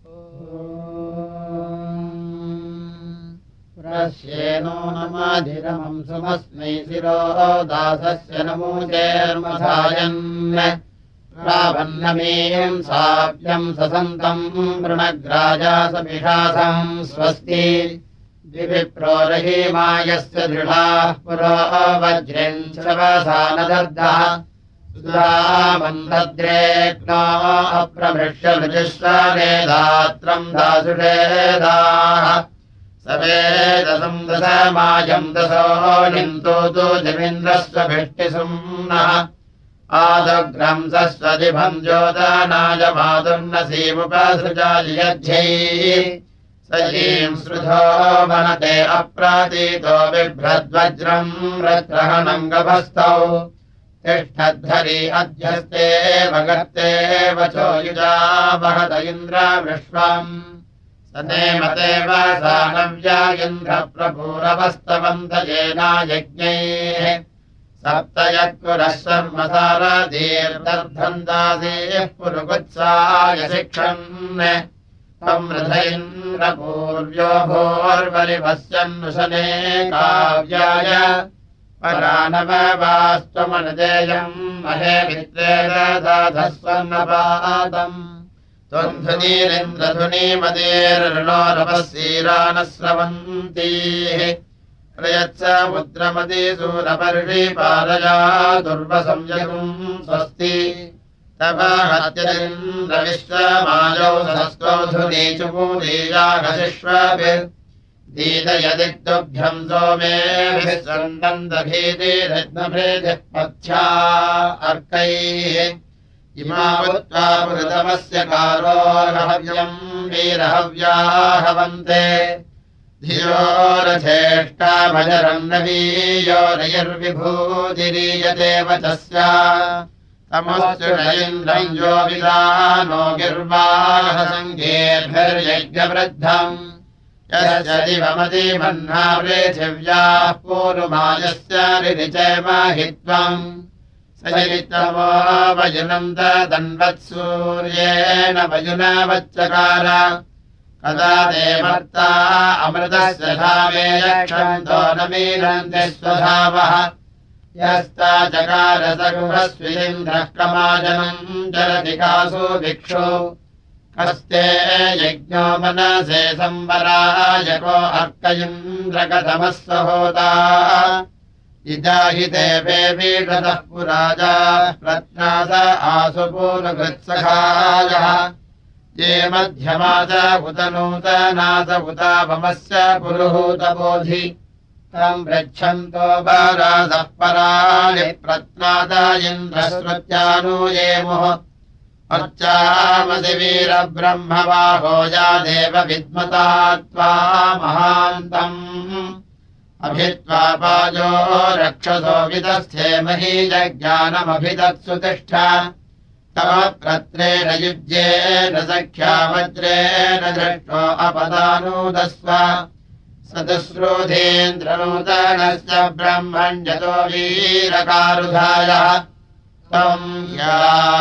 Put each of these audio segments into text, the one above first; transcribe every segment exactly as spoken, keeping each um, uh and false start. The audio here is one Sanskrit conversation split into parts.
प्रश्येनो नमाधिरमं सुमस्मै शिरो दासस्य नमूचेर्मधायन् रावन्नमेयम् साव्यम् ससन्तम् वृणग्राजासपिशासम् स्वस्ति दिविप्रोरहीमायस्य दृढाः पुरो वज्रेन् शवसानदर्दः सुधामन्दद्रेक्नो अप्रमृश्य मृजुश्वरेदात्रम् दासुषेदाः सवेदसम् दशमायम् दशोऽनिन्तोतु जमीन्द्रस्वभिष्टिसुम्नः आदग्रम् सस्वदिभम् ज्योतानाय मातुर्नसीमुपसृजायध्यैः सजीम् श्रुधो वनते अप्रातीतो बिभ्रद्वज्रम् रत्रहणम् गभस्तौ तिष्ठद्धरी अध्यस्ते भगत्ते वचो युजा वहत इन्द्र विश्वम् सनेमते वसानव्या इन्द्रप्रभूरवस्तवन्त येनायज्ञैः सप्तयत्पुरः शर्मसारदीर्दर्धन्दासेः पुरुगुत्साय शिक्षन् त्वम् रथ इन्द्रपूर्व्यो भोर्वरिवस्यन्नुशने काव्याय परानववास्त्वमनुजेयम् महे मित्रे दधाधस्वन्नपादम् त्वम् धुनीरिन्द्रधुनीमदेर्णोरपः स्रवन्तीः प्रयच्छ मुद्रमतीसूरपर्षिपारया दुर्वसंयतुम् स्वस्ति तव हत्यदिन्द्रविश्वमायौ सहस्रौधुनीचुपूदीयाघशिष्वभिर्दीदयदिग्दुभ्यम् सोमेभिः सन्दन्दभीतिरत्नभृतिः पथ्या अर्कैः इमावुत्वा पुरतमस्य कारोर्हव्यम् वीरहव्याहवन्ते धियो रथेष्टाभजरम् नवीयो रयर्विभूतिरीयते वचस्या तमस्तु न इन्द्रम् यो विदानो गिर्वाहसङ्गेर्भिर्यज्ञवृद्धम् यस्य दिवमतिमह्ना पृथिव्याः पूर्वमायस्य रिरिचैमहित्वम् स चरितमो वयुनन्त दन्वत्सूर्येण वयुनवच्चकार कदा देवर्ता अमृतस्य धावे यक्षन्तो न मीनन्ति स्वधावः यस्ता चकार सगुहस्विन्द्रः कमाजनम् जलति कासु भिक्षु कस्ते यज्ञो मनसे संवरायको अर्कयिन्द्रकथमः सहोता इदाहि देवे वीडतः पुराजा प्रत्नास आसु पूर्वकृत्सखायः ये मध्यमास उत नूतनास उतापमस्य पुरुहूतबोधि तम् पृच्छन्तो बारासः पराणि प्रत्नाद इन्द्रश्रुत्यानुयेमुः अर्चामसि वीरब्रह्मवाहो या देव विद्मता त्वा महान्तम् अभित्वा पाजो रक्षसो विदस्थे महीजज्ञानमभिदत्सु तिष्ठ तव प्रत्रेण युज्येन सख्या वज्रेण दृष्टो अपदानूदस्व सदस्रोधेन्द्रनूतनस्य ब्रह्मण्यतो वीरकारुधायः त्वम् या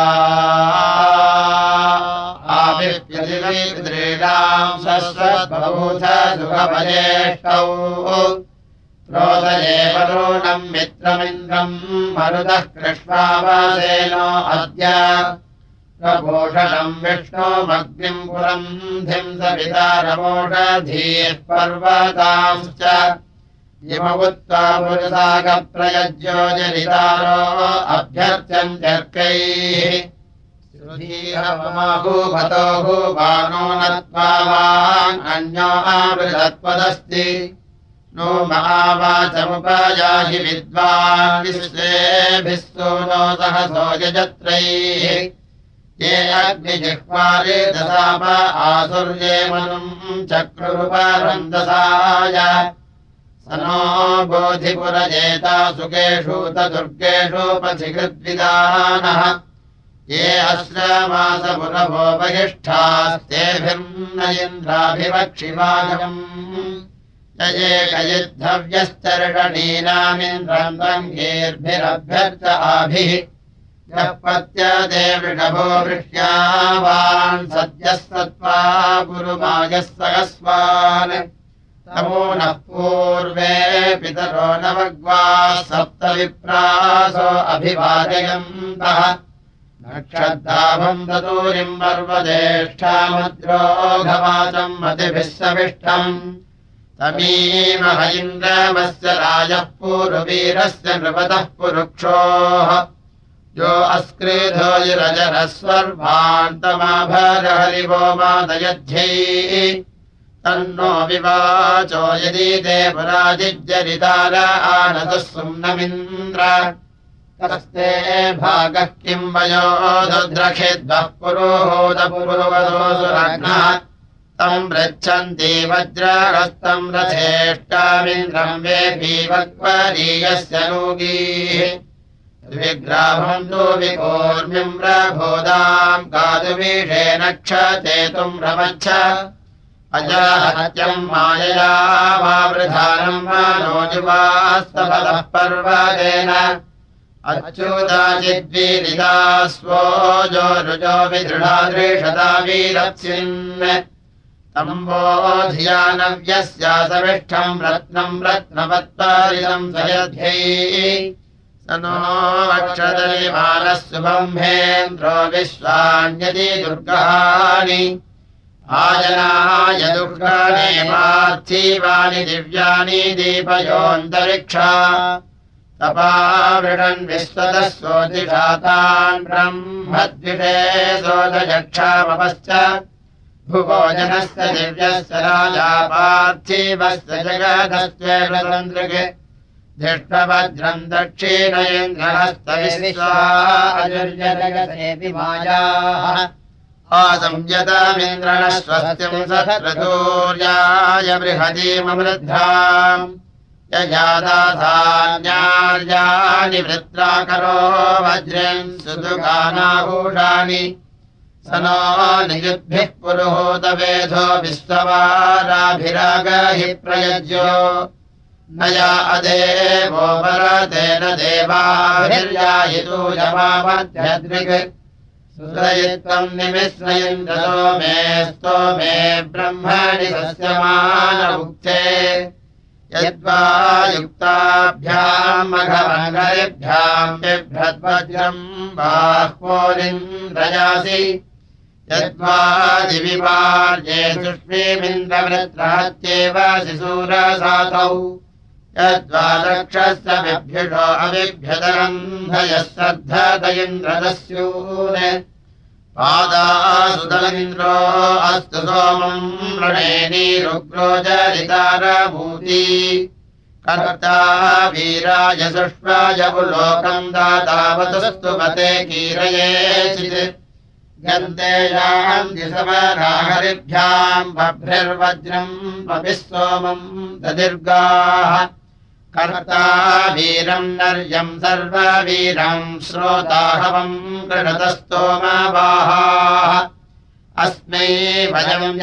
आविप्यतिवीद्रीणाम् सस्वद्बभूथ सुखभजेष्टौ प्रोदये वरुणम् मित्रमिन्द्रम् मरुतः कृष्णावासेनो अद्य प्रभूषणम् विष्णोमग्निम् पुरम् धिम् सवितारमोषधीः पर्वतांश्च इमवुत्वा पुरुषागप्रयज्यो जरितारो अभ्यर्थ्यन्त्यर्कैः श्रुधीहवमाहूभतो भूवानो नत्वा वान् अन्यो आवृतत्वदस्ति नो महावाचमुपयाहि विद्वान् विश्वेभिः सूनो सहसो यजत्रैः ये अग्निजिह्वारे दशाप आसुर्ये मनुम् चक्रुरुपरन्दसाय स नो बोधिपुरजेता सुकेषु तदुर्गेषु पथिकृद्विदानः ये अश्रमासपुरभो बहिष्ठास्तेभिर्न इन्द्राभिवक्षिवागम् ये कयिद्धव्यश्चर्षणीनामिन्द्रम् रङ्गेर्भिरभ्यर्च आभिः यः पत्यते वृषभो वृष्यावान् सद्यः सत्त्वा गुरुमायः सहस्वान् तमो नः पूर्वे पितरो नवग्वाः सप्त विप्रासो अभिवादयन्तः नक्षत्राभम् दतूरिम् पर्वदेष्ठामद्रोघवाचम् मतिभिः सविष्टम् तमीमह इन्द्रमस्य राजः पूर्ववीरस्य नृपतः पुरुक्षोः यो अस्क्रीधो यिरजरः स्वर्भान्तमाभरहरिवो मादयध्यै तन्नो विवाचो यदि ते पुराजिज्जरितार आनतः सुम्नमिन्द्र तस्ते भागः किम् वयो दुद्रखेद्वः पुरोहोदपुरुवदोऽसुरघ्नः तम् पृच्छन्ति वज्रहस्तम् रथेष्टामिन्द्रम् वेपीवक्वरीयस्य नूगीः द्विग्राभम् तु विकूर्मिम् प्रभोदाम् गातुमीषेण क्षतेतुम् रमच्छ अजाहत्यम् मायया वावृधानम् मनोजुवास्तफलः पर्वतेन अच्युताचिद्वीरिता स्वो जो रुजो विदृढादृशता वीरप्सिन् तम्बो धियानव्यस्यासविष्ठम् रत्नम् रत्नवत्पारिदम् सयध्यै स नो वक्षदलिमानः सुबम्भेन्द्रो विश्वाण्यति दुर्गाणि आजनाय दुर्गाणि पार्थिवानि दिव्यानि दीपयोऽन्तरिक्षा तपावृणन् विश्वतः सोऽधिषातान् ब्रह्मद्विषे सोदयक्षामपश्च भुवोजनस्य दिव्यस्य राजा पार्थिवस्य जगदस्त्वेन्द्रके धिष्ठवज्रम् दक्षिणयेन्द्रहस्तविश्वाजुर्यजगसेऽपि मायाः आसंयतमिन्द्रणः स्वस्तिम् सत्रतूर्याय बृहतीमवृद्धाम् यजादासान्यार्याणि वृत्राकरो वज्रेन् सुदुगानाभूषाणि स नो नियुद्भिः पुरुहूतवेधो विश्ववाराभिरागहि प्रयज्यो न या अदेवो वरतेन देवाभिर्यायितूयमामध्यद्रिक् सुदयित्वम् निमिश्रयन्द्रसो मे स्तोमे ब्रह्मणि सस्यमानमुक्ते यद्वा युक्ताभ्याम् मघमङ्गलेभ्याम् बिभ्रद्वज्रम् बाह्वोरिन्द्रयासि यद्वा दिविपार्ये सुष्मीमिन्द्रवृत्रहत्येव शिशूरसातौ यद्वा रक्षस्य बिभ्युषो अविभ्यतरन्धयः श्रद्धत इन्द्रदस्यून् पादासुतमिन्द्रो अस्तु सोमम् रणेनीरुग्रो जरितारभूति कर्ता वीराय सुष्वाय पुलोकम् दातावतुस्तु पते कीरयेचित् गन्ते यान्ति समराहरिभ्याम् बभ्रिर्वज्रम् पपिः सोमम् ददीर्घाः कर्ता वीरम् नर्यम् सर्ववीरम् श्रोताहवम् कृणतस्तोमवाहाः अस्मै वयम्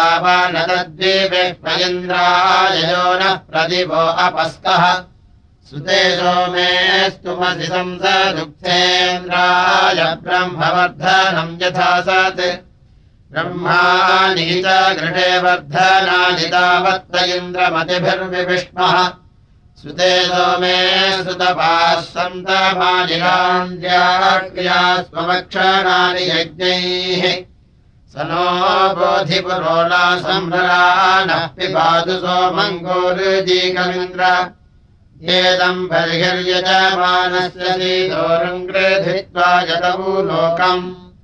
यद्भावनतद्विवेक्ष्मयन्द्राययो नः प्रदिवो अपस्कः सुते सोमेस्तुमसि संसदुक्थेन्द्राय ब्रह्मवर्धनम् यथा सत् ब्रह्माणि च गृहे वर्धनानि तावत्त इन्द्रमतिभिर्विविष्मः सुते सोमे सुतपाः सन्तमानिरान्द्याक्रिया स्वमक्षणानि यज्ञैः स नो बोधिपुरोला सम्भ्रानः पिबातु सोमङ्गोरुजीकमिन्द्र येदम् बर्हिर्यजमानस्य सीदोरम् गृहीत्वा यतवु लोकम्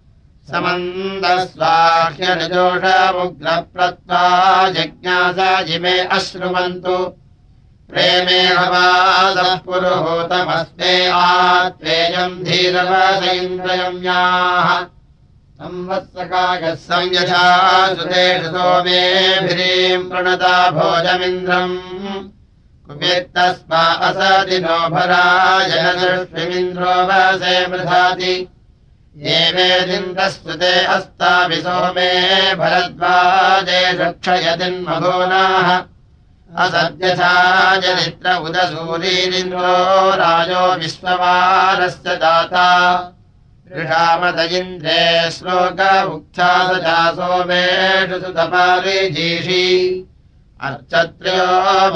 समन्दस्वाह्यनिजोषमुग्रप्रत्वा जिज्ञासा जिमे अश्रुवन्तु प्रेमे हवासः पुरुहूतमस्मे आत्वेयम् धीरवस इन्द्रयम्याः संवत्सकायः संयथा सुतेषु सोमेभिरीम् प्रणता भोजमिन्द्रम् कुपित्तस्मा असदिनो भराजनदृष्टिमिन्द्रो वसे मृधाति ये वेदिन्द्रस्तुते अस्ताभि सोमे भरद्वाजे रक्षयतिन्मघोनाः असद्यथा जनित्र उदसूरीरिन्द्रो राजो विश्ववारस्य दाता ऋषामत इन्द्रे श्लोकमुक्था सजा सोमेषु सुतपारिजीषि अर्चत्र्यो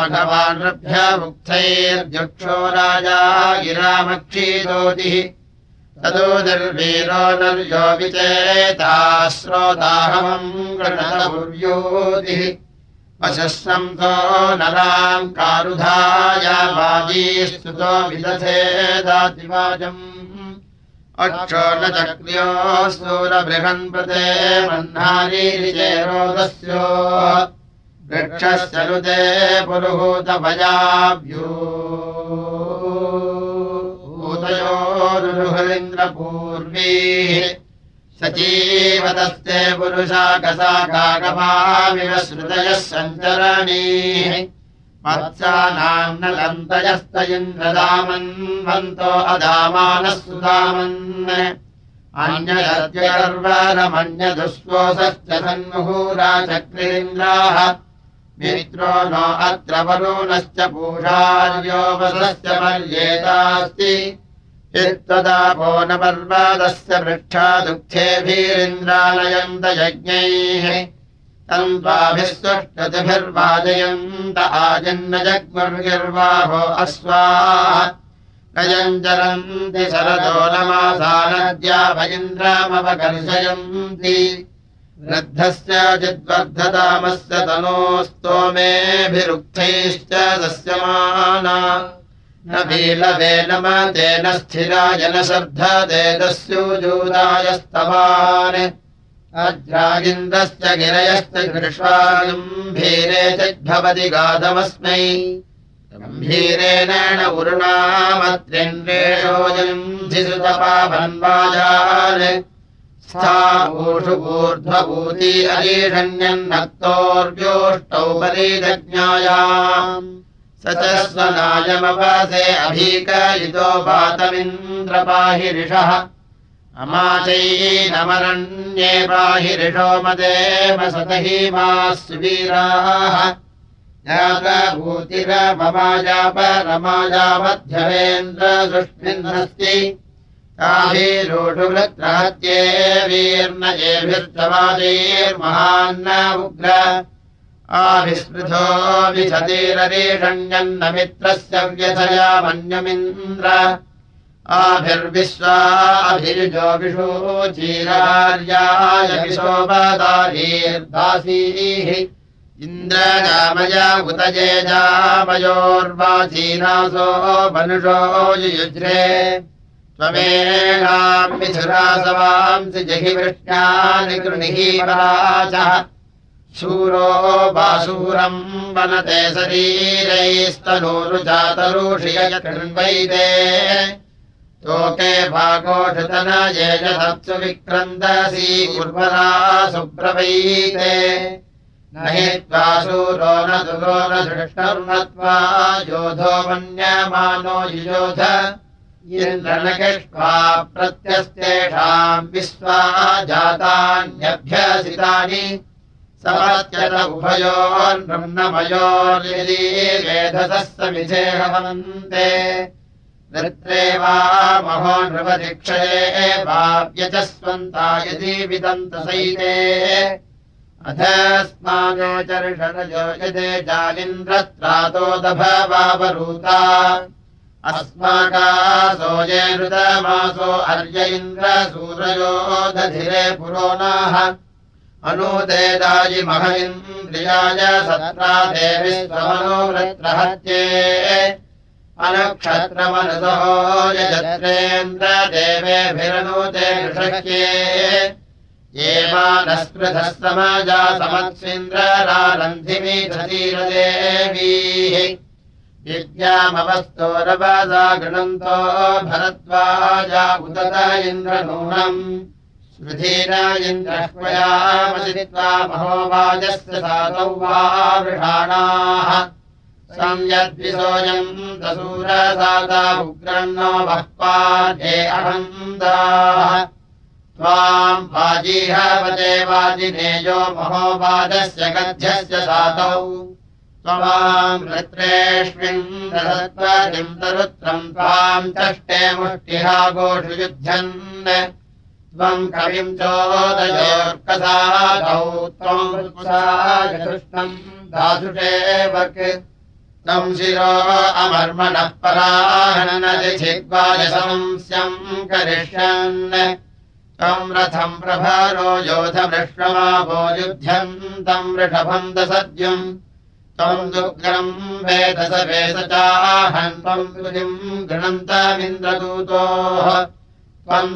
मघवानृभ्यमुक्थैर्यक्षो राजा गिरामक्षीदोतिः ततो निर्वीरो नर्यो विचेता श्रोताहमम् गणतपुर्योतिः वशस्संतो नराम् कारुधाया वाजीस्तुतो विदधेदातिवाजम् अक्षो न चक्र्यो सूरबृहन्पते मह्नारीरिचेरोदस्यो वृक्षस्य नुते पुरुहूतभयाभ्यूतयोरुरुहरिन्द्रपूर्वीः सजीवतस्ते पुरुषाकसाकागमाविव श्रुतयः सञ्चरणीः मत्सानाम् न लन्तयस्त इन्द्रदामन्वन्तो अदामानः सुदामन् अन्यदद्यर्वरमन्यदुष्वोसश्च सन्मुहूराचक्रीन्द्राः मित्रो नो अत्र वरुणश्च पूषार्योपसश्च पर्येतास्ति यत्तदापो न पर्वतस्य वृक्षा दुःखेभिरिन्द्रालयन्त यज्ञैः तन्त्वाभिस्तुष्टतिभिर्वाजयन्त आजन्न जग्मुर्गिर्वाहो अश्वाः नयञ्जरन्ति शरदो नमासा नद्या भयिन्द्रामवकर्षयन्ति वृद्धस्य चिद्वर्धतामस्य तनोस्तोमेभिरुक्थैश्च दस्यमाना न भीलवे न मतेन स्थिराय न शर्धते दस्युजूदायस्तवान् अज्रागिन्द्रश्च गिरयश्च घृष्वागम्भीरे चिद्भवति गाधमस्मै गम्भीरेण उरुणामत्रिन्द्रेषोजन्धि सुतपावन्वाजान् स्थावूषु ऊर्ध्वभूति अरीषण्यन्नक्तोर्व्योष्टौ परिदज्ञायाम् स च स्वनायमवसे अभीकयितो वातमिन्द्रपाहि ऋषः अमाचैनमरण्ये पाहि ऋषो मदेव सतहीमाः सुवीराः जातभूतिरममाजापरमाजामध्यवेन्द्रसुष्मिन्नस्ति ताभिरोषु वृत्रहत्ये वीर्न एभिर्चवाजैर्महान्न उग्र आभिस्पृथो विशतीररीषण्यन्न मित्रस्य व्यथया मन्यमिन्द्र आभिर्विश्वा अभिरुजो विषूचीरार्याय विशोपदारीर्दासीः इन्द्रजामय उत जेजामयोर्वाचीनासो मनुषो युयुज्रे त्वमेणाम् मिथुरासवांसि जहि वृष्ण्यानि कृणिहि पराचः शूरो वासूरम् वनते शरीरैस्तनूरुजातरुषि यकृण्वैते तोके भागोषतन ये च तत्सु विक्रन्दसि उर्वरा सुब्रवैते न हि त्वा शूरो न दुरो न धृष्टर्नत्वा योधो मन्यमानो युयोध इन्द्रनकेष्वा प्रत्यस्तेषाम् विश्वा जातान्यभ्यसितानि समत्यत उभयोर्ब्रह्ममयोर्यदि वेधसः समिधे हवन्ते नृत्रे वा महो नृपतिक्षये वाव्यचस्वन्ता यदि विदन्तसैते अधस्मानो चर्षणजो यदे जालिन्द्रत्रातो दभवावरूता अस्माकासो ये ऋतमासो अर्य इन्द्र सूरयो दधिरे पुरोनाः अनुदे दायि मह इन्द्रियाय सत्रा देवि स्वमनोवृत्रहत्ये अनुक्षत्रमनुसो यजत्रेन्द्र देवेभिरनुते नृषक्ये ये मानस्पृथः समाजा समत्सिन्द्ररारन्धिमीधतीरदेवीः विद्यामवस्तोरवसा गृणन्तो भरद्वाजा उदत इन्द्रनूनम् श्रुधीर इन्द्रह्वयामसित्वा महोवाजस्य सातौ वा वृषाणाः संयद्विसोऽयम् दसूरसाता उग्रन्नो वःपाध्ये अहन्दाः त्वाम् वाजीहवते वाजिनेयो महोवाजस्य गध्यस्य सातौ त्वाम् वृत्रेष्विन् दधत्वजिम् तरुत्रम् त्वाम् चष्टे मुष्टिहा गोषु युध्यन् त्वम् कविम् चोदयोर्कसादौ त्वम् वृत्साय कृष्णम् दासुषे वक् तम् शिरो अमर्मणः पराहनदिग्वायसंस्यम् करिष्यन् तम् रथम् प्रभारो योधवृष्णमाभो युध्यन्तम् वृषभम् दसद्युम् त्वम् दुग्रम् वेदस वेदचाहन् त्वम् तुजिम् गृणन्तमिन्द्रदूतोः त्वम्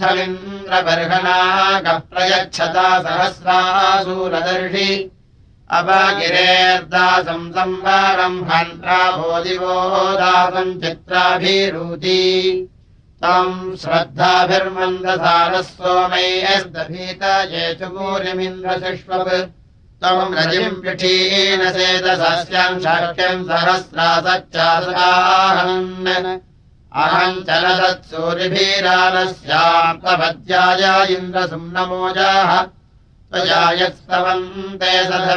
तदुक्थमिन्द्रबर्हणाकप्रयच्छता सहस्रासूरदर्शि अवगिरेर्दासम् संवारम् हन्त्राभोदिवो दासम् चित्राभिरूति तम् श्रद्धाभिर्मन्दसारः सोमैस्तभीत ये च भूरिमिन्द्रशिष्वप् त्वम् रजिम् पिठीनसेदसस्यम् शक्यम् सहस्रासच्चासकाहन् अहम् चलदत्सूरिभिरालस्याम् तवद्याय इन्द्रसुम्नमोजाः त्वया यत्स्तवन्ते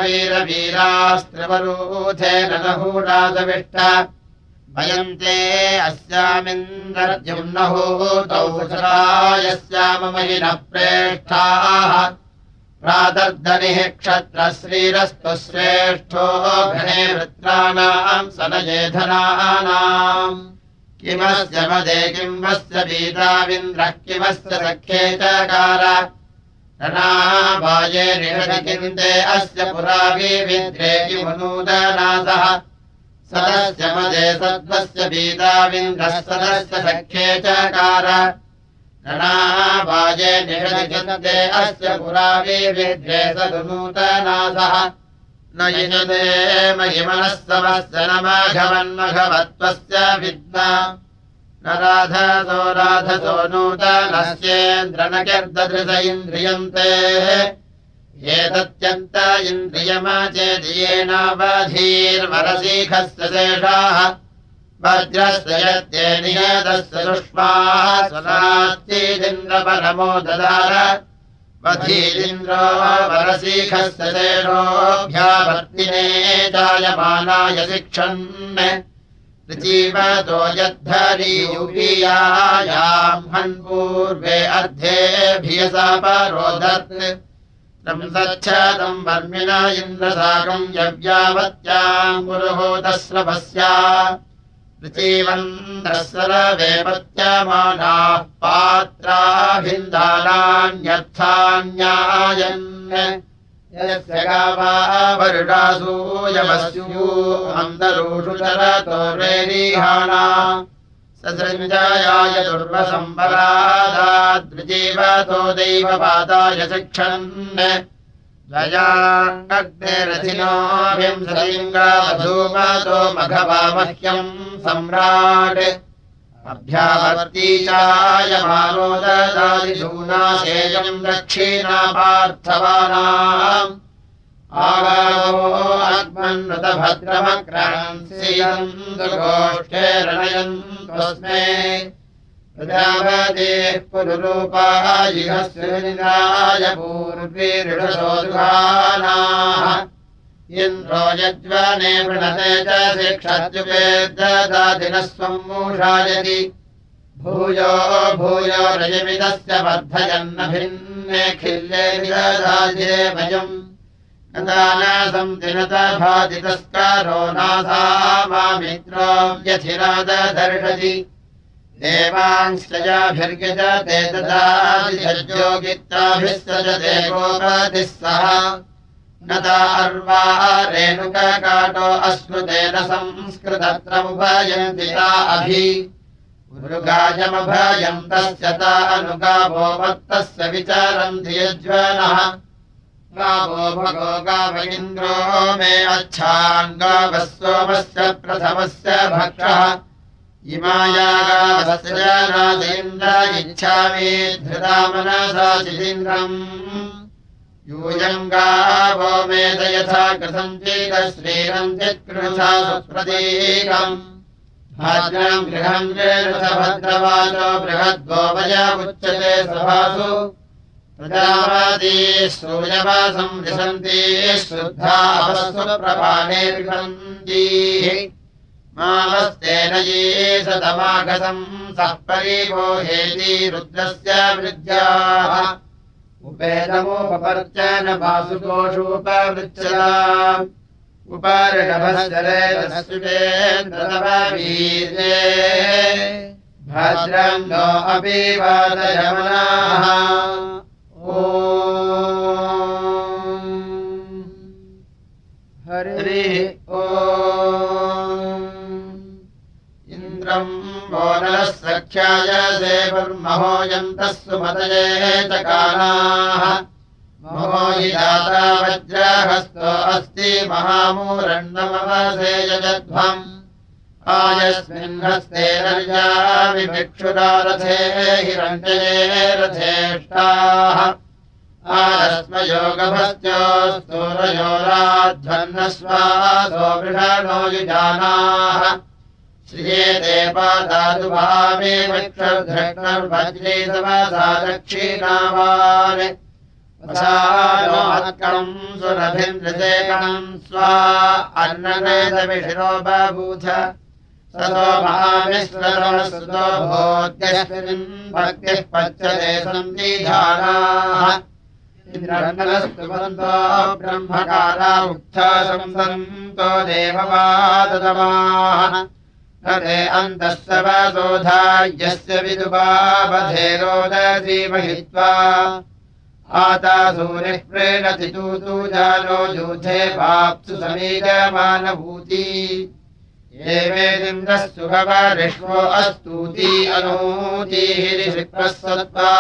सधवीरवीरास्त्रिवरूथेन नहूरासविष्ट भयन्ते अस्यामिन्द्रद्युम्नहूतौ यस्याममहिनः प्रेष्ठाः प्रातर्धनिः क्षत्रश्रीरस्तु श्रेष्ठो घने वृत्राणाम् सनयेधनानाम् किमस्य मदे किमस्य पीताविन्द्रः किमस्य सख्ये चकार रणावाये निषदिकिन्दे अस्य पुरा विविद्रे किमुनूदनासः सदस्य मदे सद्वस्य पीताविन्द्रः सदस्य सख्ये चकार रणावाये निषदिकिन्दे अस्य पुरा विविद्रे सदुनूतनासः न यजते महिमनस्तवस्य न माघवन्मघवत्वस्य विद्मा न राधसो राधसो नूतनस्येन्द्र न कर्ददृश इन्द्रियन्ते एतत्यन्त इन्द्रियमाचेदियेनावधीर्वरसीखस्य शेषाः वज्रस्य यत्ते नियतस्य दुष्माः स्वनात्तीदिन्द्रपरमो ददार वधीरिन्द्रो वरसीखस्य शेषोऽभ्यावर्तिने जायमानाय शिक्षन् जीवतो यद्धरीयुपीयायाम् हन्पूर्वे अर्धेभियसा परोदत् तम् सच्छदम् वर्मिण इन्द्रसाकम् यव्यावत्याम् पुरुहूतस्रभस्या ऋचीवन्तस्रवे पत्यमानाः पात्राभिन्दानान्यर्थान्यायन् यस्य गावा वरुडासूयवस्यू अन्तरूषु चरतो रेरिहाणा ससृञ्जायाय दुर्वसम्परादाद्विजीवतो दैवपादाय शिक्षन् द्वयाग्नेरथिनो विंशतिङ्गावधूमतो मघवामह्यम् सम्राट् अभ्यावर्ती चायमानो ददादिशूनाशेयम् दक्षिणापार्थवानाम् आगावो आत्मन्नतभद्रमक्रान्सीयम् दुर्गोष्ठे रणयन्तोऽस्मे प्रजापतेः पुरुरूपायिहस्विनिराय पूर्वीरिषसो दुहानाः इन्द्रो यज्वने वृणते च शिक्षत्युपेददादिनः स्वम् मूषायति भूयो भूयो रजमिदस्य वर्धयन्न भिन्ने खिल्ले विदधाजे भयम् नदानासम् दिनत भातितस्कारो नासा मामित्रो व्यथिरादधर्षति देवांश्चयाभिर्यजते ददादिजज्योगित्राभिस्सजते गोपतिः सह नदा अर्वा रेणुककाटो अश्नुतेन संस्कृतत्रमुभयन्ति ता अभि मृगायमभयम् तस्य ता अनुगावो मत्तस्य विचरन्ति यज्वनः गावो भगो गाव इन्द्रो मे अच्छान् गावः सोमस्य प्रथमस्य भक्षः इमाया गावस्य नादेन्द्र इच्छामि धृता मनसा चिदिन्द्रम् यूयम् गावो मेद यथा कृतञ्चिद श्रीरम् चित्कृथा सुप्रतीकम् भाद्रम् गृहम् भद्रवाचो बृहद्गोवय उच्यते सभासु प्रजावादी सूर्यवासम् विशन्ति शुद्धा अपस्तु प्रभाणे विशन्ति मावस्तेन येषतमागसम् सः परिवोहेति रुद्रस्य वृद्ध्याः उपेदमुपपर्चन वासुकोषोपवृच्छला उपार्णभस्वरेन्द्रवीर्ये भद्रम् नो अपि वादयमनाः ॐ हरिः ॐ इन्द्रम् मोनः सख्याय सेवर्महो यन्तः सुमतये चकानाः महो हि दाता वज्रहस्तो अस्ति महामूरण्णमवसेयजध्वम् आयस्मिन् हस्ते रर्या विभिक्षुरारथे हिरण्यये रथेष्टाः आरस्मयोगभस्त्योस्तूरयोराध्वन्नस्वासो वृषणो युजानाः श्रियेते पादातु भावे वक्षर्धृष्णर्वज्रीतवसा दक्षिणावान् वसानोत्कणम् सुरभिन्द्रसेकणम् स्वा अन्ननेदविशिरो बभूथ सतो महाविश्वरमसुतो भोद्यस्मिन् भक्तिः पच्यते सन्धिधानाः इन्द्रन्नस्तुवन्तो ब्रह्मकारा उक्था संसन्तो देववादतमाः तदे अन्तः सवसोधा यस्य विदुपावधे रोदसी महित्वा आतासूरिः प्रेणति तूतु जानो यूथे वाप्सु समीजमानभूति एवेदिन्द्रः सुभवरिष्वो अस्तूति अनूतिः सत्त्वा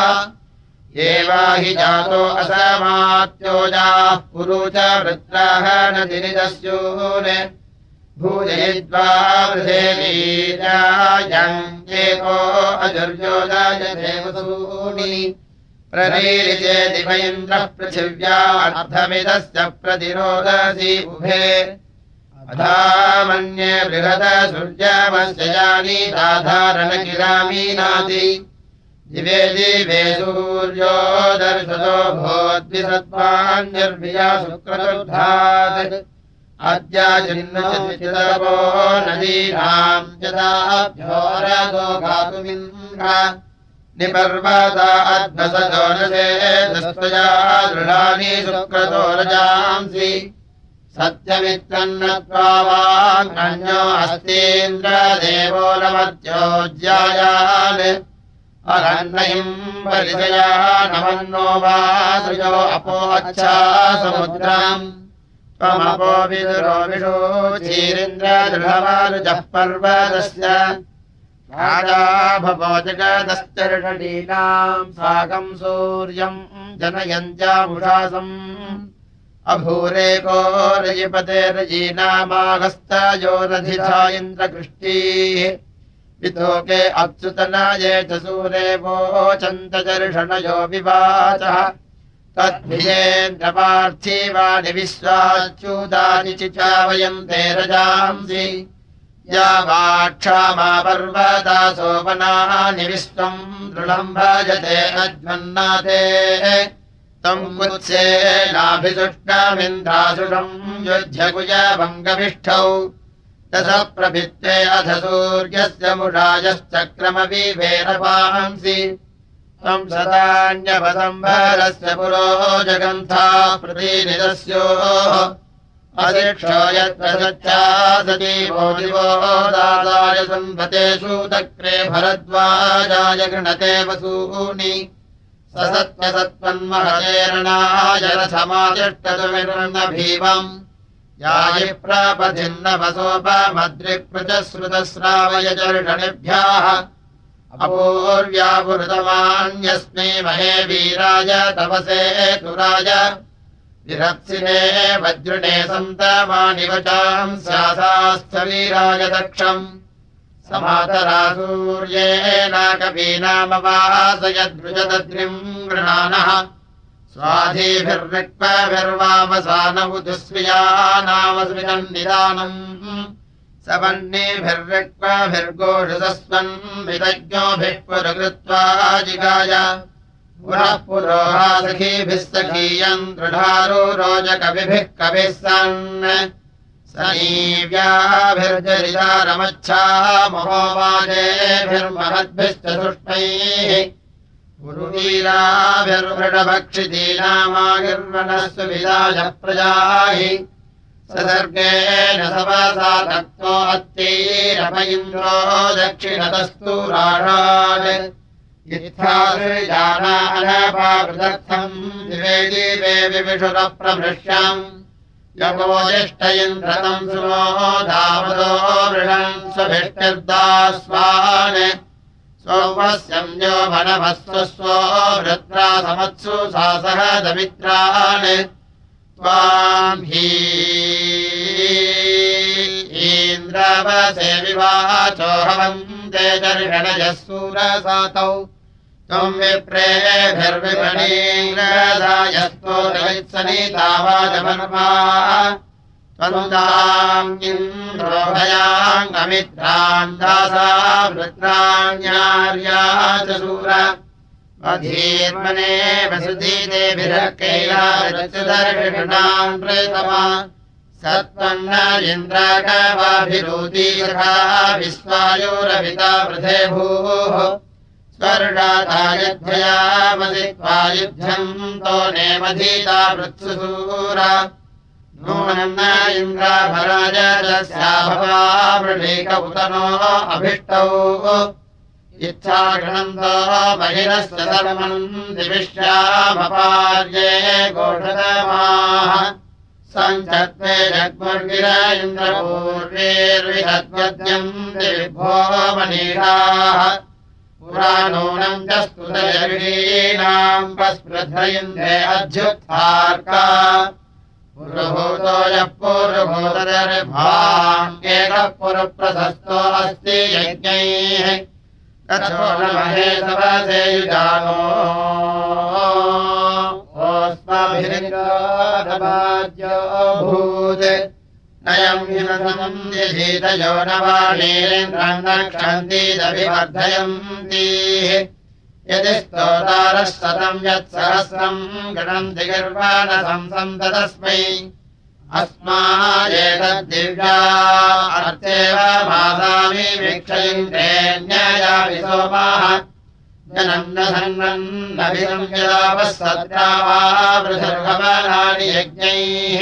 एवाहि जातो असमात्योजाः पुरु च वृत्राः नदिनिदस्यून् भूजयित्वा वृधे वीरायम् एको अजुर्योदायते वसूनि प्ररीरिते दिव इन्द्रः पृथिव्या अर्धमिदस्य प्रतिरोदसी उभे अधा मन्ये बृहद सूर्यमस्य यानि साधारणकिरामीनाति दिवे दिवे सूर्यो दर्शतो भोद्विसत्त्वान्यर्भिया शुक्रतुर्धात् अद्याचिन्नचितपो नदीनाम् यदाभ्योरदो गातुमिन्द्र निपर्वता अध्वसतो नसे दस्त्वया दृढानि शुक्रतो रजांसि सत्यमित्रन्नत्वा वाङ्गण्यो अस्तीन्द्रदेवो नमत्योज्यायान् अरण्यम् परिचया नमन्नो वा सृजो अपो अच्छा समुद्रम् त्वमपो विदुरो विषोचीरिन्द्रदृढमारुजः पर्वतस्य राजा भवो जगदश्चर्षणीनाम् साकम् सूर्यम् जनयन्त्यामुषासम् अभूरेको रजिपते रजीनामागस्तयो रथिथा इन्द्रकृष्टीः वितोके अप्सुतनाये च सूरे वोचन्तचर्षणयो विवाचः तद्भिजेन्द्रपार्थिवानि विश्वाच्युतानि चिचावयन्ते रजांसि या वाक्षामा पर्वता सोपनानि विश्वम् दृढम् भजते अध्वन्नाते तम् कुत्सेनाभिसुष्टमिन्द्रासुषम् युध्यकुजभङ्गविष्ठौ तस प्रभित्ते अथ सूर्यस्य मुषायश्चक्रमविवेरपांसि तम् सदान्यवसम्भरस्य पुरो जगन्था प्रतिनिदस्योः अशिक्षो यत्प्रसच्छा सजीवो दिवो दादाय सम्भते सूतक्रे भरद्वाजाय गृणते वसूनि स सत्यसत्त्वन्महतेरणाय रथमातिष्ठतुमिर्नभीवम् यायि प्रापथिन्नवसोपमद्रिक्पृचश्रुतस्रावय चर्षणिभ्यः अपूर्व्यापुरुतमान्यस्मै महे वीराय तपसे तुराय विरप्सिने वज्रुणे सन्तमानि वचाम् स्यासास्थवीराय दक्षम् समातरा सूर्येनाकवीनामवासयद्रुजदद्रिम् गृणानः स्वाधीभिर्रिक्पभिर्वामसानमुदुस्वियानामस्मितन्निदानम् सवन्नीभिर्रिक्पभिर्गोषसस्वन् विदज्ञोभिः पुरकृत्वा जिगाय पुनः पुरोहा सखीभिः सखीयम् दृढारो रोजकविभिः कविः सन् सनीव्याभिर्जरिदारमच्छा महोवाजेभिर्महद्भिश्च सुष्मैः पुरुवीराभिर्वृषभक्षितीनामागिर्वनस्व विदाय प्रजाहि सदर्गेण सवसा तक्तो अत्तीरप इन्द्रो दक्षिणतस्तु राणान् इत्थादृजानानपावृदर्थम् दिवे दिवे विविषुरप्रमृश्यम् यगोजिष्ठ इन्द्रतम् सुमो दावदो वृषन् स्वभिष्टिर्दास्वान् सोमस्यम् यो मनमस्वस्वो वृत्रा समत्सु सासह दमित्रान् त्वाम् हि इन्द्रवसे विवाचो हवन्ते दर्शनयः सूरसातौ त्वम् विप्रेभिर्विपणीन्द्रदायस्तो दलित्सनितावाजमन्वा त्वन्ताम् इन्द्रोभयाङ्गमित्रान् दासा वृत्राण्यार्या च सूर अधीर्मने वसुधीदेभिरकैलाविरचुदर्शनान् प्रेतमा सत्त्वन्न इन्द्रागवाभिरोधीर्हा विश्वायोरभिता वृधे भूः स्वर्गातायध्वयामदित्वा युध्यम् तो नेमधीता वृत्सुसूरा नूनम् न इन्द्राभराजस्याभवा वृणीक उतनो अभिष्टौ इच्छागणन्तो बहिरस्य सर्वम् दिविष्यामपार्ये गोढतमाः सञ्चत्वे जग्मुर्गिर इन्द्रपूर्वेर्विहद्वद्यम् दिविभो मनीषाः पुरा नूनम् च स्तुतयर्षीणाम् पस्पृथ इन्द्रे अध्युत्थार्का पुरुभूतो यः पूर्वभूतदर्भाम् एकः पुरप्रशस्तो अस्ति यज्ञैः तथो न महेशवसेयुजानो ओस्माभिरिन्द्रो भूत् नयम् हिमसम् यधीतयो न वाणीरेन्द्रम् नक्षन्तीदभिवर्धयन्तीः यदि स्तोतारः शतम् यत्सहस्रम् गणन्ति गर्वाणसंसम् तदस्मै अस्मायेतद्दिव्या अर्चेव मासामि वीक्षयिन्द्रेऽन्ययापि सोमाः जनन्न धन्वन्नभिदम् यदावः सत्रा वा वृषर्भवनानि यज्ञैः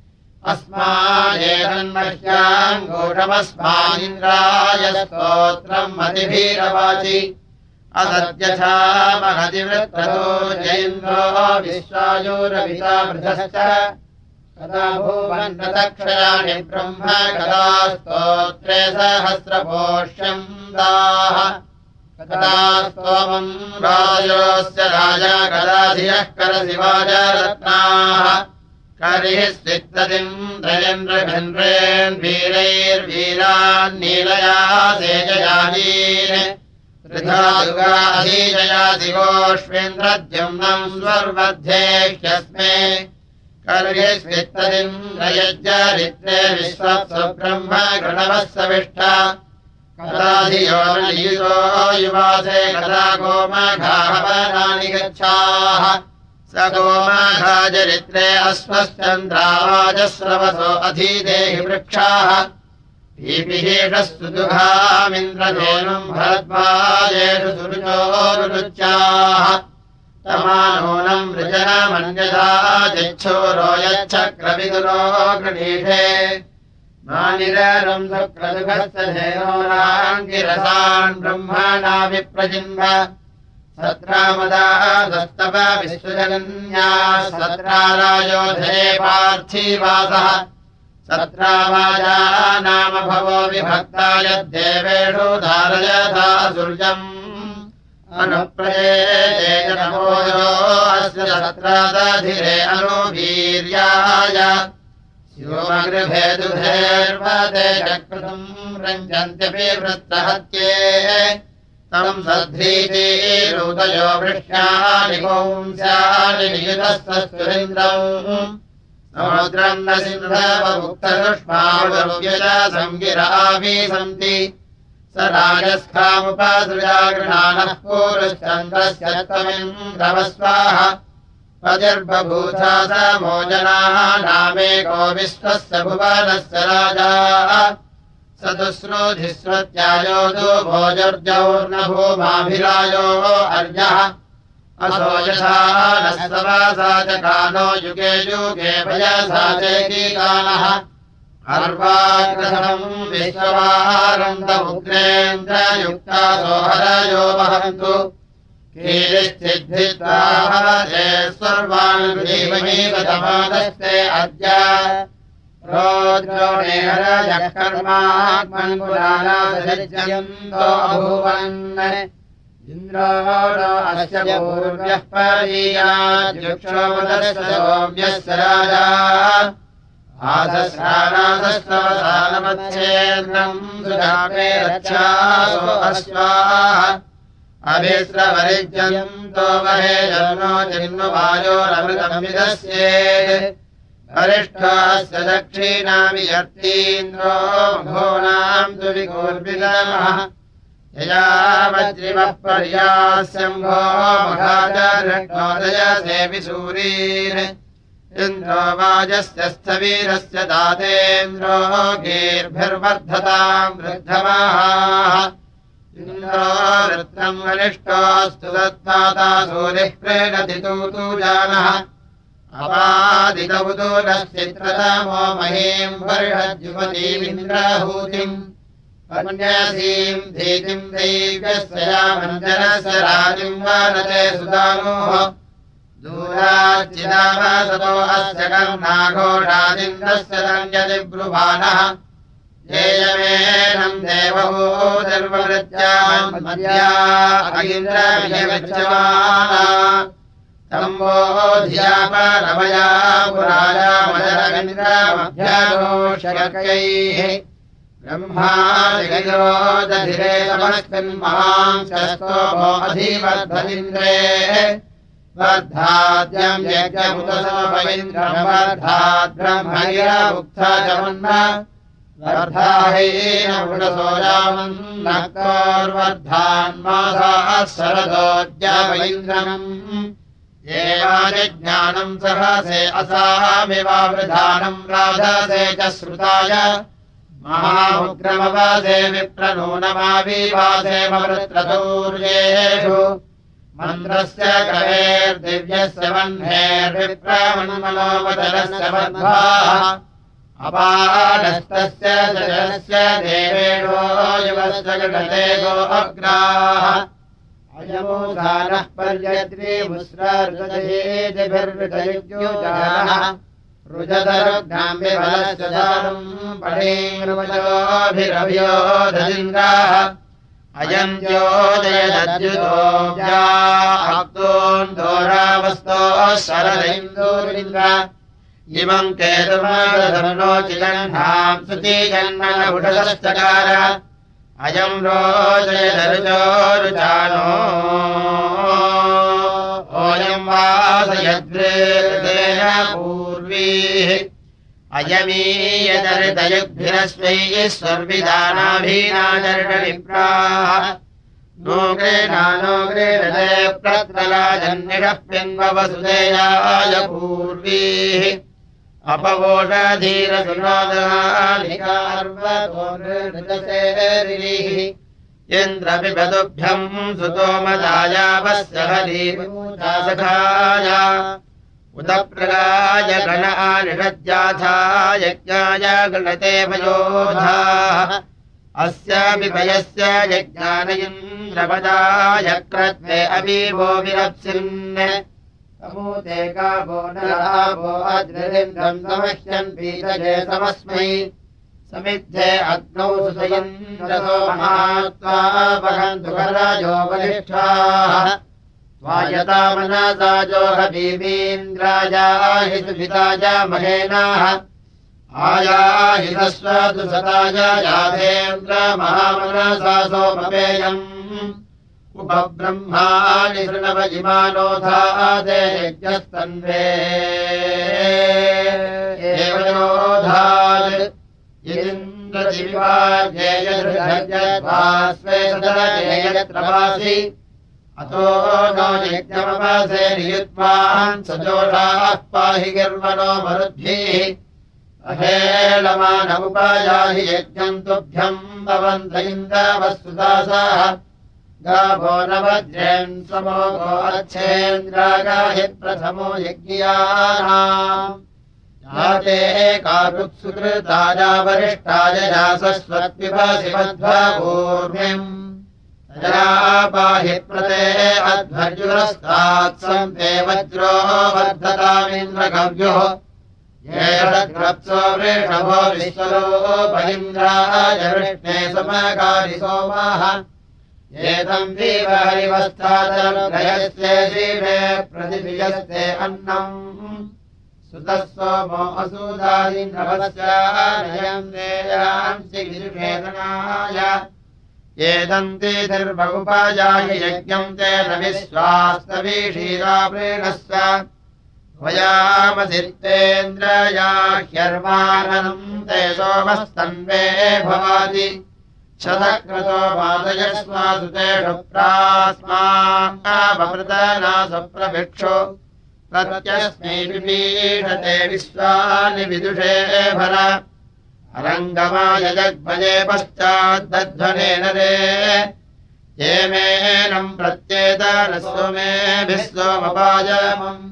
अस्मायेतन्मह्याम् घोषमस्मादिन्द्राय स्तोत्रम् मतिभिरवाचि असद्यथा महतिवृत्रतो जयेन्द्रो विश्वायोरभिता वृधश्च कदा भुवन्नतक्षयाणि ब्रह्म कदा स्तोत्रे सहस्रपोष्यम् दाः कदा स्तोमम् राजोऽस्य राजा कदा धियः करशिवाजरत्नाः करिः स्वित्तदिन्द्रयन्द्रघन्द्रेन् वीरैर्वीरान् नीलया सेजयानीन् वृथा दुर्गाधीजया दिवोष्वेन्द्रद्युम्नम् स्वर्वध्येह्यस्मे कर्हि स्वित्तदिन्द्रयज्जरित्रे विश्वत्सब्रह्म गणवः सविष्ठा कदा धियो नियुतो युवासे कदा गोमघाहवनानि गच्छाः स गोमघाजरित्रे अश्वश्चन्द्रावाजस्रवसो अधीदेहि वृक्षाः पीपिहेषस्तु दुघामिन्द्रधेनुम् भरद्वाजेषु सुरुचोरुच्चाः तमानूनम् वृजनमन्यथा जिच्छूरो यच्छक्रविदुरो गृणीषे मानिरम् शुक्रदुघस्य धेनोराङ्गिरसान् ब्रह्मणा विप्रजिन्व सत्रामदा दस्तव विश्वजनन्याः सत्रारायोधे पार्थिवासः सत्रावाजा नाम भवो विभक्ता यद्देवेषु धारयथा सूर्यम् अनुप्रये नमोजो अस्य सत्रादधिरे अनुवीर्याय शिवमगृभे दुधेर्वते चक्रतुम् रञ्जन्त्यपि वृत्रहत्ये तम् सध्रीतिरुदयो वृष्ण्यानि पुंस्यानि नियुतस्तुरिन्द्रम् समुद्रम् न सिन्धवमुक्तदुष्मावरुव्यज सङ्गिराभि सन्ति स राजस्थामुपसृजा गृहाणः पूरुश्चन्द्रस्य त्वमिन्द्रवस्वाः पतिर्बभूथा समो जनाः नामेको विश्वस्य भुवनस्य राजा सतुश्रोधिस्वत्यायो भोजर्जौर्न भूमाभिरायो अर्यः असो यथा नः सवासा च कानो युगे युगे भयसा चैकीकानः अर्वाग्रहम् विश्ववाहारन्तमुग्रेन्द्रयुक्तासो हरयो वहन्तु कीलिश्चिद्धित्वाः ते सर्वान् जीवनीवतमादस्ते अद्य रोद्रोणेहरयः कर्माग्मन्पुराणासज्जयन्तो अभूवन् इन्द्रो नो अस्य पूर्व्यः परीयाद्युक्षोपदस्य सोम्यस्य राजा आसस्राणासस्तवसानमच्छेन्द्रम् सुधामे रक्षासो अश्वाः अभिस्रवरिज्यन्तो वहे जन्नो जिन्नुवायोरमृतम् विदस्येत् अरिष्ठास्य दक्षिणामि यर्तीन्द्रो मघोनाम् तु विगोर्विदमः यया वज्रिमः पर्यास्यम्भो मघाचरण्योदयसेवि सूरीन् इन्द्रो वाजस्य स्थवीरस्य दातेन्द्रो गीर्भिर्वर्धताम् वृद्धमाः इन्द्रो वृत्रम् वनिष्ठोऽस्तु तत्पाता सूरिः प्रेणति तूतु जानः अपादितवुदूरश्चित्रतमो महीम् वर्षद्युपतीमिन्द्रहूतिम् अन्यसीम् धीतिम् दैव्यस्य यामञ्जनस्य राजिम् वानते सुदानोः दूराच्चिदावसतो अस्य कर्णाघोषादिन्द्रस्य रञ्जति ब्रुवाणः येयमेनम् देवभूतिर्वृत्याम् मद्या अगिन्द्रविजयगच्छमाना तम्बो धियापरमया पुराया मदरविन्द्रमभ्याघोषकैः ब्रह्मादिगिरोदधिरे समस्मिन् महांशस्तोभो अधिवर्धनिन्द्रे वर्धाद्यम् यज्ञमुतसोपैन्द्रम् वर्धाद् ब्रह्मगिरमुक्था जमन्न वर्धाहीनवृणसोजामन्नक्तोर्वर्धान्मासाः शरदोद्यावैन्द्रम् येवादिज्ञानम् सहसे असामिवावृधानम् राधसे च श्रुताय महामुग्रमवासे विप्रनूनमाविवासे मवृत्रतूर्येषु मन्त्रस्य कवेर्दिव्यस्य वह्नेर्विप्रमन्मनोवचनस्य मध्वाः अपाडस्तस्य जलस्य देवेणो युवस्य गणते गो अग्राः अयमोधानः पर्यद्री मुस्रार्गजेदिभिर्विदयुज्योजानः रुजतरुग्नाम्बिफलस्य दानम् पणीर्वजोभिरभ्योदजिन्द्राः अयम् ज्योदयदद्युतोऽब्जाक्तोन्दोरावस्तोः शरदैन्दोरिन्द्र इमम् केतुमादधर्णोचिगन्धाम् सुतीजन्मनभुषदश्चकार अयम् रोजयदरुचोरुचानो ओयम् वासयद्वेदेन पूर्वीः अयमीयदरितयुग्भिरस्मैः स्वर्विदानाभीनाचरणविप्राः नोग्रेणानोग्रे हृदे प्रत्रलाजन्निषः पिन्ववसुदेयाय पूर्वीः अपवोषधीरसुनादानिकार्वतोर्नृतसेरिः इन्द्रपिबदुभ्यम् सुतोमदायावस्य हरीपूजासखाय उदप्रगाय गण आनिषद्याथा यज्ञाय गणते भयोधाः अस्यापि भयस्य यज्ञान इन्द्रपदाय क्रत्वे अवीवो विरप्सिन् समूते गावो नरावो अद्रिन्द्रम् समह्यन् पीतजे समस्मै समिद्धे अग्नौ सुतयन्द्रसो महात्वा वहन्तु कराजो वरिष्ठाः स्वायता मनसा जोहबीमीन्द्रायाहि सुभिताय महेनाः आयाहितस्वतु सताय याधेन्द्र महामनसा सोमपेयम् उपब्रह्माणि शृणव इमानोधाते यज्ञस्तन्वे एवयोधात् इन्द्रदिविवार्येयधृजद्वास्वे सदरजेयत्रवासि अतो नो यज्ञमवसे नियुत्वान् सजोषाः पाहि गिर्वनो मरुद्भिः अहेलमानमुपायाहि यज्ञम् तुभ्यम् भवन्त इन्द्रवस्तुदासाः गावो न वज्रेन् समो गो अच्छेन्द्रागाहि प्रथमो यज्ञियानाम् याते कारुत्सुकृताया वरिष्ठाय यासस्वत्पिबसि मध्वपूर्णिम् तया पाहि प्रते अध्वर्युरस्तात् ते वज्रो वर्धतामिन्द्रगव्योः येषद्रप्सो वृषभो विश्वरूपैन्द्राय वृष्णे समगारि सोमाः एतम् दीवहरिवस्थादनुग्रहस्ते जीवे प्रतिभियस्ते अन्नम् सुतः सोमो असूदादिन्द्रवस्यानयम् देयांसि गिरिवेदनाय एदन्ति निर्बहुपायाहि यज्ञम् तेन विश्वास्तवीषीरावृणस्व वयामसित्तेन्द्रया ह्यर्वाननम् ते सोमस्तन्वे भवाति शतक्रतो वादयस्मासु तेषु प्रास्मावृतनासु प्रभिक्षो प्रत्यस्मै विपीषते विश्वानि विदुषे भर अरङ्गमाय जग्भजे पश्चाद्दध्वनेन रे ये मेनम् प्रत्येतानस्व मेभिः सोमपायमम्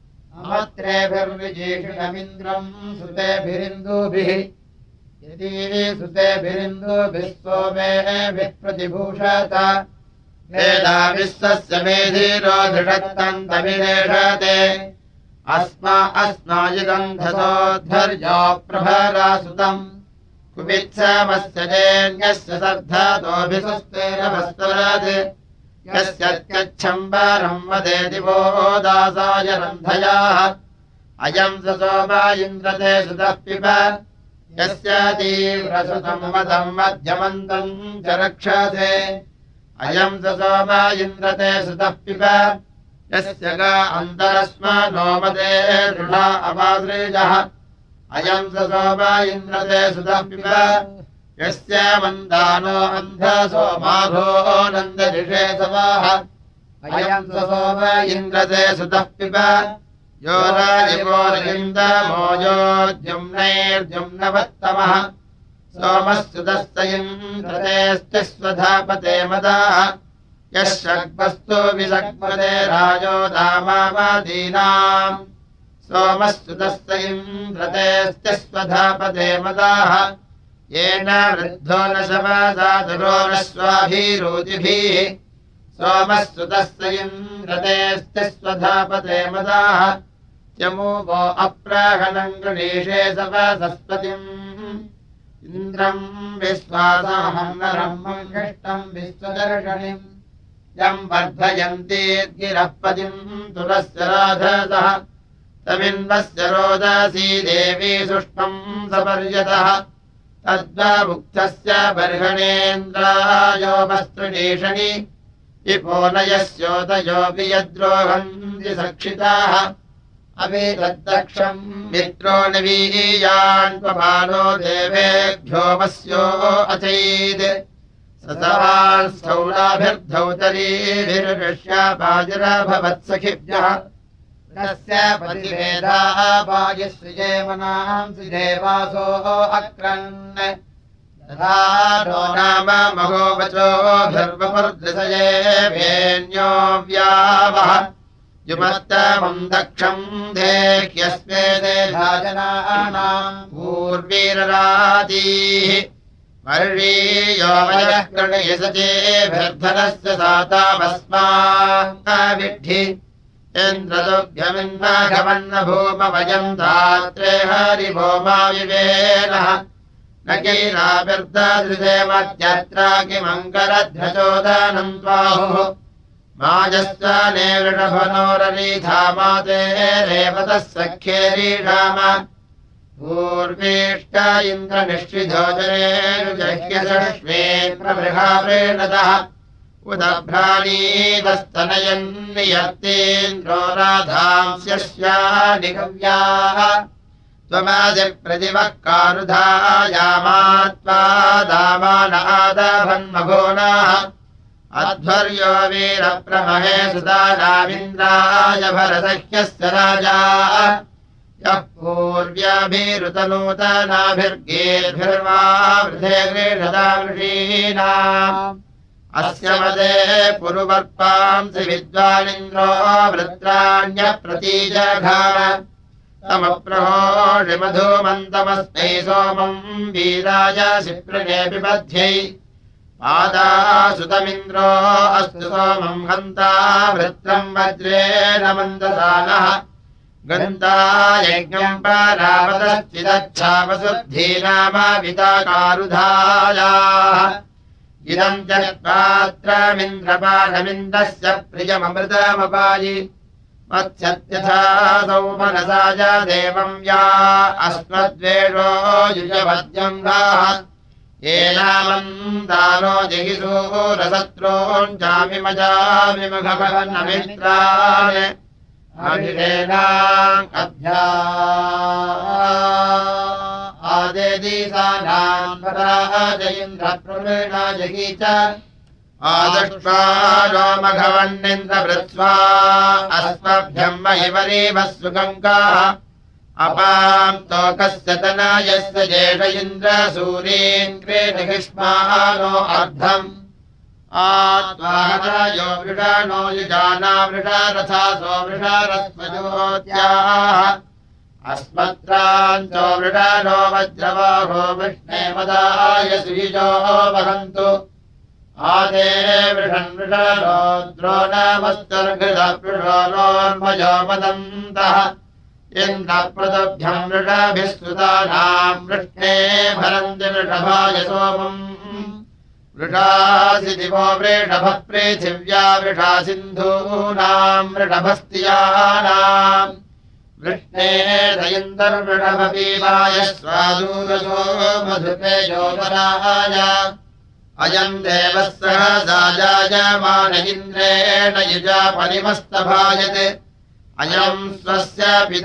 अमत्रेभिर्विजीषिणमिन्द्रम् सुतेभिरिन्दुभिः यदि सुतेभिरिन्दुभिः सोमेभिः प्रतिभूषत वेदा विश्वस्य मेधीरो धृषत्तन्तमिरेषते अस्मा अस्मायुगन्धसोद्धर्यो प्रभरासुतम् कुपित्समस्य जेन्यस्य सर्धतोऽभिसुस्तेरवस्तरत् यस्यत्यच्छम्बरम् वदे दिवो दासाय रन्धयाः अयम् स सोमा इन्द्रते सुतः पिब यस्य तीव्रसुतम् वदम् मध्यमन्तम् च रक्षसे अयम् स सोमा इन्द्रते सुतः पिब यस्य गा अन्तरस्मानो मदे दृढा अवादृजः अयम् स सोमा इन्द्रते सुतः पिब यस्य मन्दानो अन्धसो माघो नन्दऋषे समाः अयम् स सोम इन्द्रते सुतः पिब यो राजिवोरिन्दमो योद्युम्नैर्द्युम्नवत्तमः सोमः सुतस्त इन्द्रतेऽस्तिस्वधापते मदाः यः षड्वस्तु विषग्पदे राजो दामावादीनाम् सोमः सुतस्त इन्द्रतेऽस्तिस्वधापते मदाः येन वृद्धो न शमसादुरो न स्वाभिरोतिभिः सोमः सुतस्य इन्द्रतेऽस्तिस्वधापते मदाः यमूवो अप्राहनम् गृणीषे सवसस्पतिम् इन्द्रम् विश्वासाहम् नरम् मङ्गिष्टम् विश्वदर्शनिम् यम् वर्धयन्तीर्गिरः पतिम् तुलस्य राधसः तमिन्वस्य रोदसी देवी सुष्मम् सपर्यतः तद्वामुक्तस्य बर्हणेन्द्रायो वस्त्रणीषणि विपोनयस्योदयोऽपि यद्रोहन्ति सक्षिताः अपि तद्दक्षम् मित्रो निवीयान्पमानो देवेभ्यो वस्यो अचैत् ससवांस्थौलाभिर्धौतरीभिर्षापाजिरभवत्सखिभ्यः तस्य प्रतिभेदाः पायस्विजेमनांसि देवासो अक्रन् तथा नो नाम महोवचोभिर्वपुर्दृशये भेन्यो व्यावः युमत्तमम् दक्षम् देह्यस्मे देभाजनानाम् पूर्वीररातीः वर्षीयो वयः कृणयसचेभिर्धनस्य सातामस्माविद्धि इन्द्रदुभ्यमिन्नाघवन्न भूम वयम् धात्रे हरिभोमा विवेनः न कीराभिर्ददृशे मध्यत्रा किमङ्करध्वजोदनम् त्वाहुः माजस्व नेवृषभनोररीधा माते रेवतः सख्ये रीषाम पूर्वीष्ट इन्द्रनिश्चिधोजनेरुजह्यसश्वे प्रबृहावृणतः उदभ्राणीवस्तनयन्नियत्तेन्द्रो राधांस्यस्यानिगव्याः त्वमादिप्रतिवः कारुधायामात्वा दामान आदाभन्मघोनाः अध्वर्यो वीरप्रमहे सुदानामिन्द्राय भरसह्यस्य राजा यः पूर्व्याभिरुतनूतनाभिर्गेर्भिर्वा वृधे गृह्णदा वृषीणाम् अस्य मदे पुरुवर्पांसि विद्वानिन्द्रो वृत्राण्यप्रतीजघार तमप्रहोषि मधुमन्तमस्मै सोमम् वीराय शिप्रिणे पिबध्यै पादासुतमिन्द्रो अस्तु सोमम् हन्ता वृत्रम् वज्रेण मन्दसानः गन्ता यज्ञम् परावतश्चिदच्छावसुद्धीनामाविताकारुधायाः इदम् च पात्रमिन्द्रपाठमिन्द्रस्य प्रियममृतमपायि मत्स्यत्यथा सौमनसाय देवम् या अस्मद्वेषो युजवद्यम् गाः येनामन्दानो जगिसूरशत्रूञ्चामिमजामिमुखभवन्नमित्रान् अभिषेणाम् अध्या आदेदीसानाम् पराजयिन्द्रप्रवीणा जगी च आदष्ट्वा नोमघवन्निन्द्रवृत्स्वा अस्मभ्यम् महिवरीवः सुगङ्गाः अपाम् तोकस्य तनयस्य जेष इन्द्रसूरीन् क्रीडहिष्मानो अर्धम् आत्वाहरायो वृषाणो युजाना वृषारथासो वृषारस्वजोत्याः अस्मत्राञ्चो वृषाणो वज्रवाहो विष्णे मदाय सुयुजो वहन्तु आदे वृषन् वृषाणो द्रोणमस्तर्घृतपृषोर्मजो वदन्तः इन्द्रप्रदभ्यम् वृषाभिः सुतानाम् वृष्णे भरन्ति वृषभाय सोमम् वृषासि दिवो वृषभः पृथिव्या वृषा सिन्धूनाम् वृषभस्तियानाम् वृष्णे दयन्तर्वृषभपीवाय स्वादूरसो मधुपेजोपराय अयम् देवः सहसा जायमान इन्द्रेण युजा परिमस्तभायते अयम् स्वस्य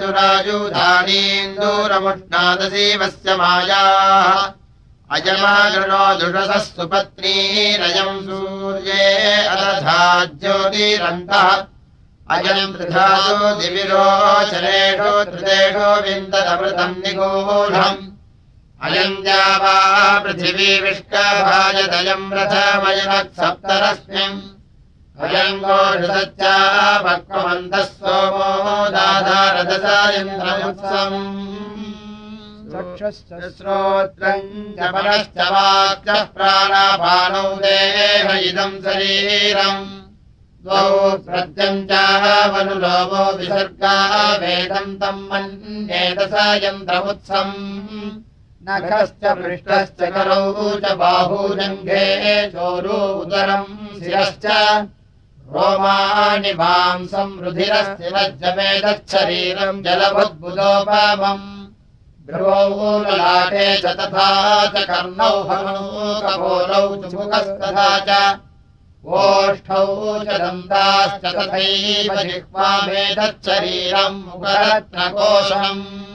पितुरायुधानीन्दूरमुष्णादसीवस्य मायाः अयमागृणो दुषसः सुपत्नीरयम् सूर्ये अदधा ज्योतिरन्तः अयम् त्रिधातु दिविरोचनेषु त्रिदेषु विन्ददमृतम् निगूढम् अयम् द्यावा पृथिवी विष्कभाजदयम् रथमयनः सप्तरश्मिम् अयम् गोषसच्चापक्वमन्तः सोमो दाधारदसा इन्द्रमुत्सम् चक्षुश्च श्रोत्रम् च परश्च वाक्यः प्राणापानौ देह इदम् शरीरम् द्वौ प्रत्यम् चावनुलोमो विसर्गा वेदम् तम् मन्येत स यन्त्रमुत्सम् नखश्च पृष्ठश्च करौ च बाहूजङ्घे चोरू उदरम् शिरश्च रोमाणि मांसम् रुधिरस्थिरज्जमेदच्छरीरम् जलभुद्बुदोपमम् भ्रुवौ ललाटे च तथा च कर्णौ हनौ कपोलौ च मुखस्तथा च ओष्ठौ च दन्ताश्च तथैव जिह्वामेतच्छरीरम् मुखरत्नकोशम्